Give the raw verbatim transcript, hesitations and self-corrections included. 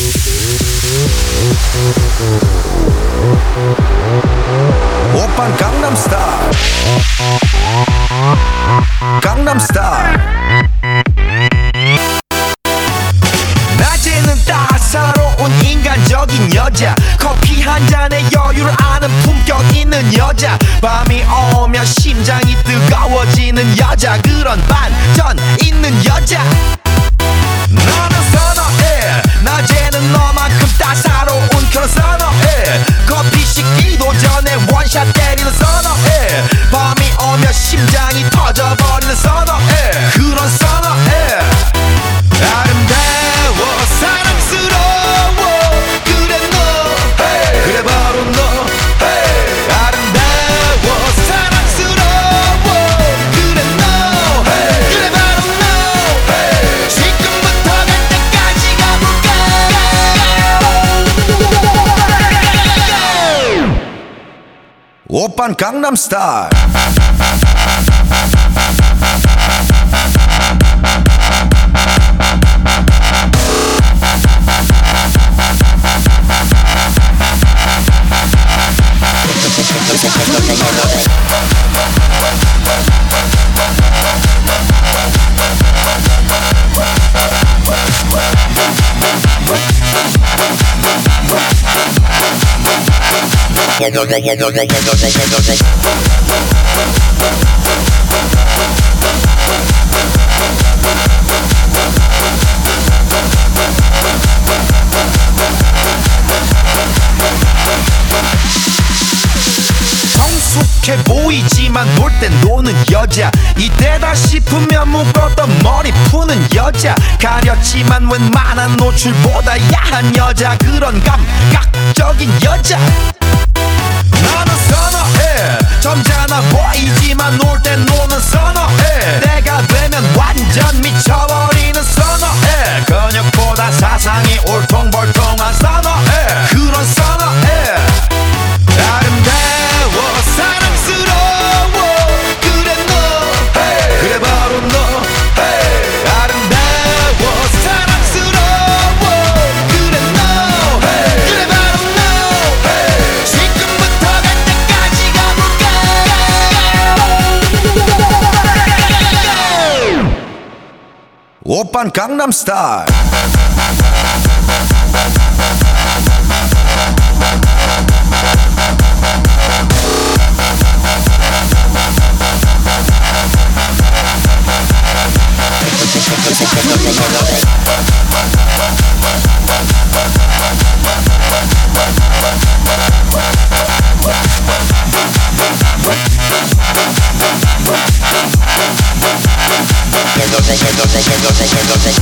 오빤 강남스타일 강남스타일 낮에는 따사로운 인간적인 여자 커피 한 잔에 여유를 아는 품격 있는 여자 밤이 오면 심장이 뜨거워지는 여자 그런 반전 있는 여자 너는 선어해 낮에는 너만큼 따사로운 그런 선어해 커피 식기도 전에 원샷 때리는 선어해 밤이 오면 심장이 터져버리는 선어해 그런 선어해 아름다워 사랑스러워 그래 너 hey. 그래 바로 너 hey. 아름다워 사랑스러워 그래 너 hey. 그래 바로 너 hey. 지금부터 갈 때까지 가볼까 오빤 강남스타일 성숙해 보이지만 놀 땐 노는 여자 이때다 싶으면 묶었던 머리 푸는 여자 가렸지만 웬만한 노출보다 야한 여자 그런 감각적인 여자 나는 선어해 점잖아 보이지만 놀 땐 노는 선어해 내가 되면 완전 미쳐버리는 선어해 근육보다 사상이 울퉁불퉁한 선어해 그런 선어해 아름다워 사랑스러워 그래 너 hey. 그래 바로 너 hey. 아름다워 사랑스러워 그래 너 hey. 그래 바로 너 hey. 지금부터 갈 때까지 가볼까 오빤 강남스타일 Go, go, go, go, go, go, go, go, go, go.